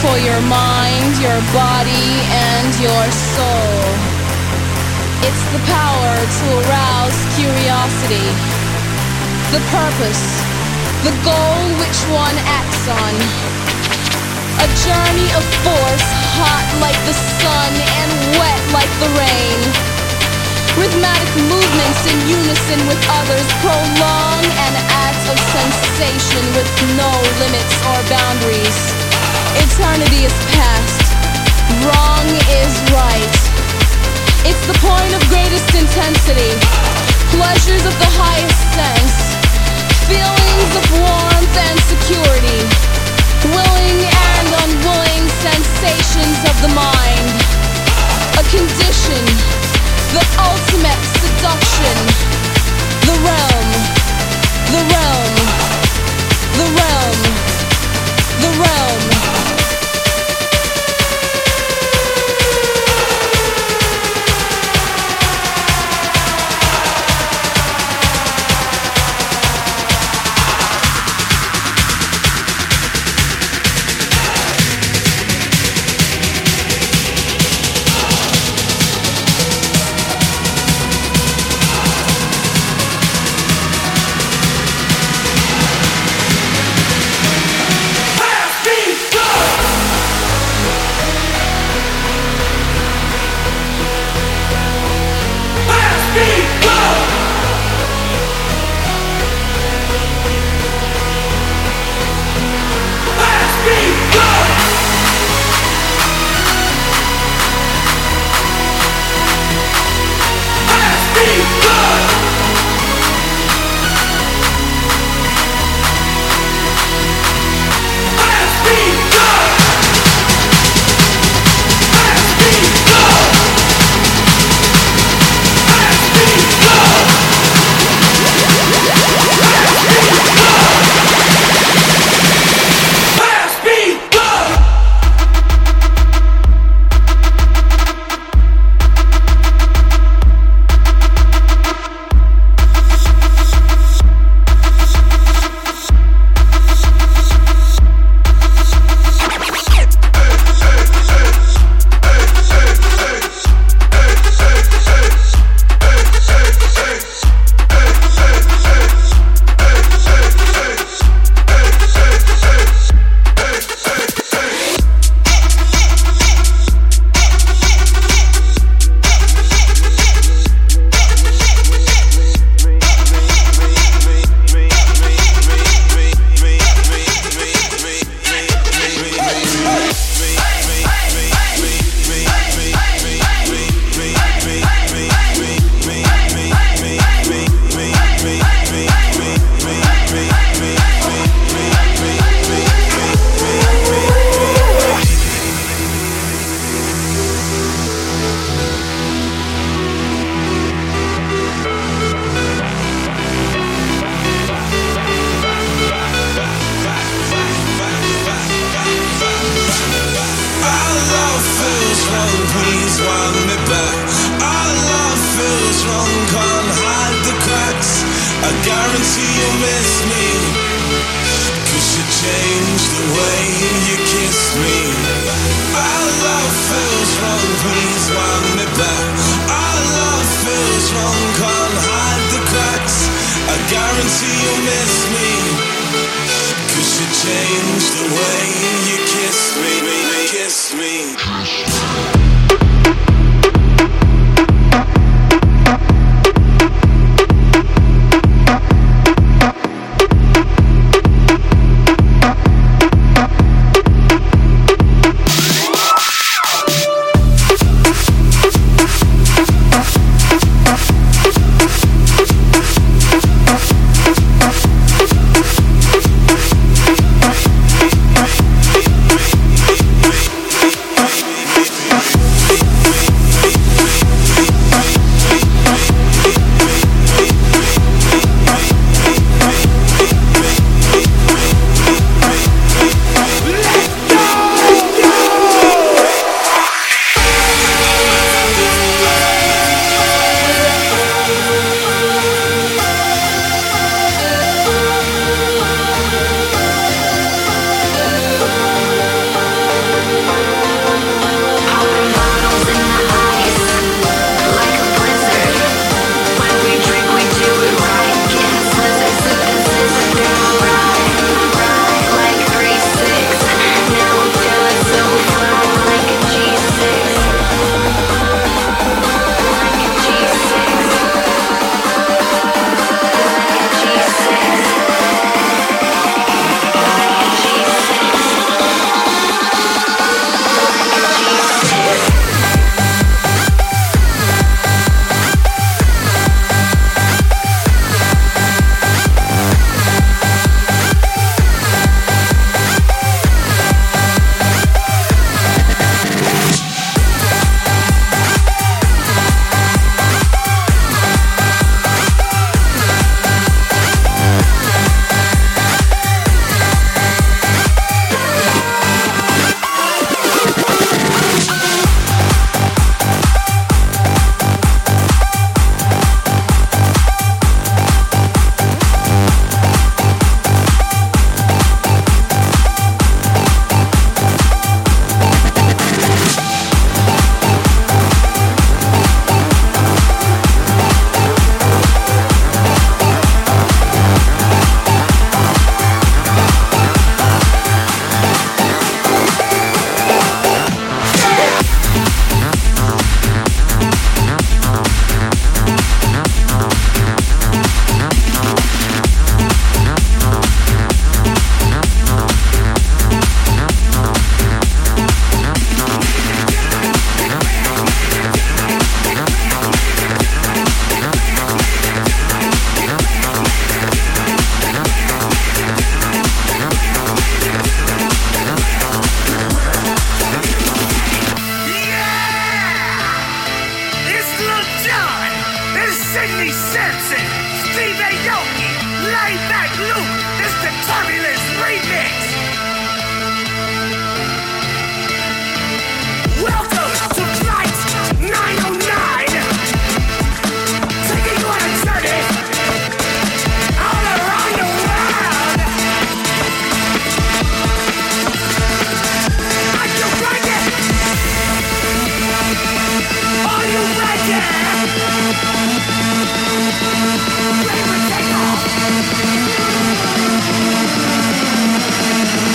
for your mind, your body, and your soul. It's the power to arouse curiosity, the purpose, the goal which one acts on. A journey of force, hot like the sun and wet like the rain. Rhythmic movements in unison with others prolong an act of sensation with no limits or boundaries. Eternity is past, wrong is right. It's the point of greatest intensity, pleasures of the highest sense, feelings of warmth and security, willing and unwilling sensations of the mind. A condition, the ultimate seduction. The realm, the realm, the realm, the realm. Sidney Sampson, Steve Aoki, Laidback Luke, it's the Turbulence Remix. Welcome to Flight 909, taking you on a journey all around the world. Are you ready? Are you ready? Ready for takeoff.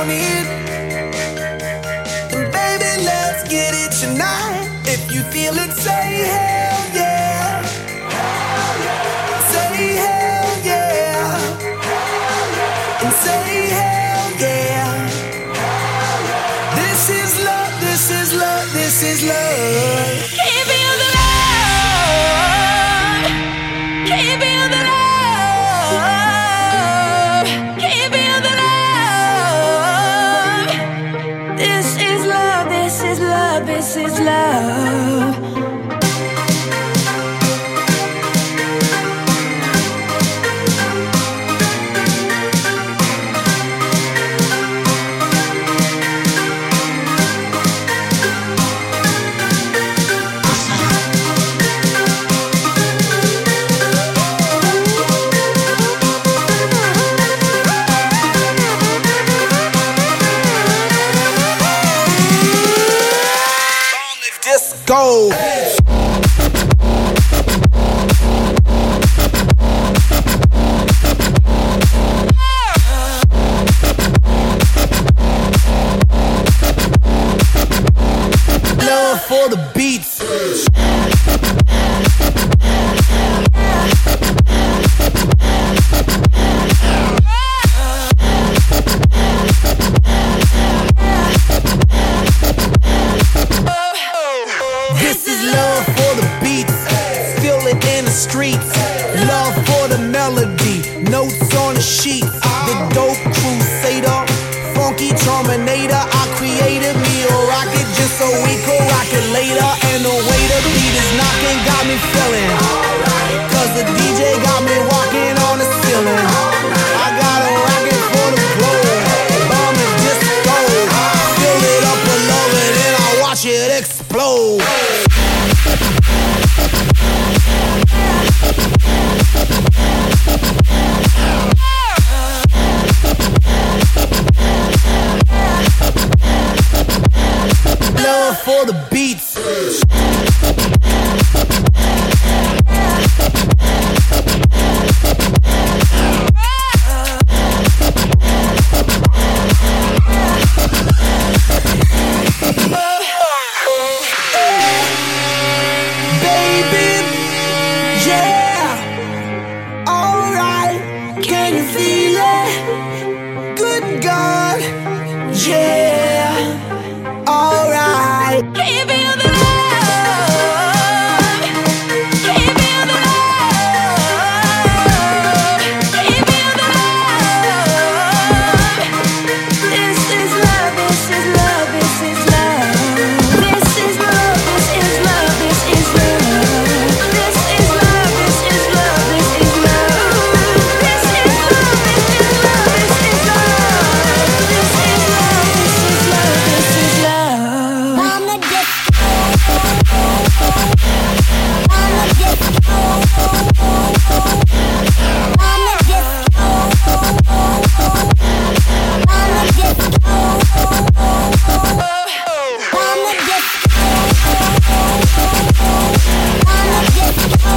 want it. And baby, let's get it tonight. If you feel it, say hell yeah. Hell yeah. Say hell yeah. Hell yeah. And say hell yeah. Hell yeah. This is love, this is love, this is love. Keep feel the love. Keep feel the love. Keep feel the love. This is love, this is love, this is love. Go. Love for the beats. This is love for the beats, feel it in the streets. Love for the melody, notes on the sheets. The dope crusader, funky terminator. I created me a rocket just so we could rock it later. And the way the beat is knocking got me feeling. Cause the DJ got me walking on the ceiling. I got a rocket for the globe, bomb and disco. Fill it up with love and then I watch it explode. Love for the beats. Baby, yeah, alright, can you feel it? Good God, yeah, alright. Keep feel the love. Keep feel the love. Keep feel the love. This is love, this is love, this is love. This is love, this is love, this is love. This is love, this is love, this is love. This is love, this is love, this is love. This is love, this is love, this is love. On the disco, on the disco, on the disco, on the disco, on the disco, on the disco,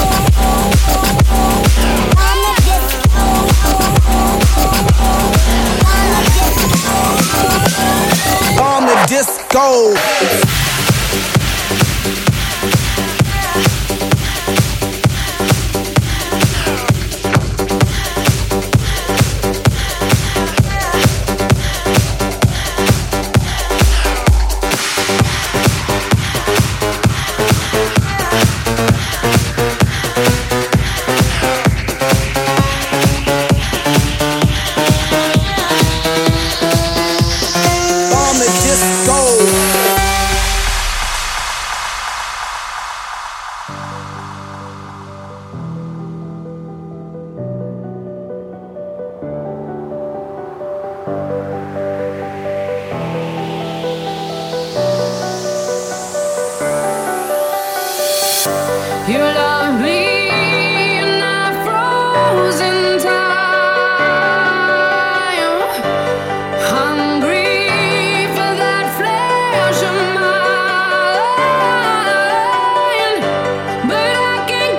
On the disco. On the disco. You love me in that frozen time, hungry for that flesh of mine. But I can't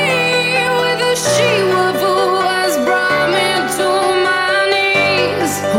compete with the she-wolf who has brought me to my knees.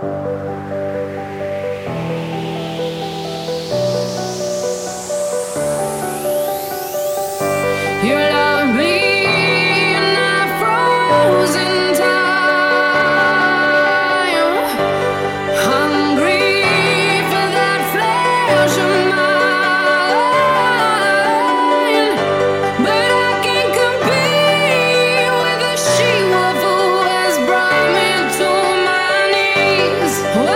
You love me in a frozen time, hungry for that flesh of mine. But I can't compete with the she-wolf who has brought me to my knees.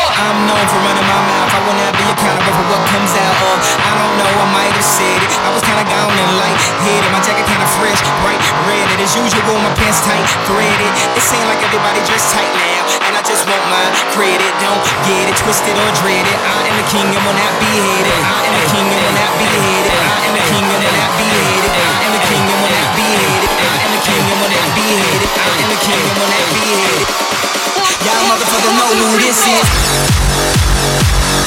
I'm known for running my mouth. I will not be accountable for what comes out of. I don't know, I might have said it. I was kinda gone and light-headed. My jacket kinda fresh, bright red. As usual, my pants tight, threaded. It seems like everybody dressed tight now, and I just want my credit. Don't get it twisted or dreaded. I am the king and will not be hated. I am the king and will not be hated. I am the king and will not be hated. I am the king and will not be hated. I am the king and will not be hated. I am the king and will not be hated. Y'all motherfuckers know who this is.